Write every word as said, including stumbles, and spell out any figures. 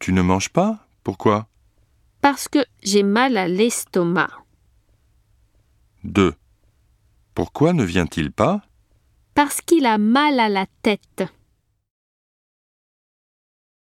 Tu ne manges pas? Pourquoi? Parce que j'ai mal à l'estomac. deux. Pourquoi ne vient-il pas? Parce qu'il a mal à la tête.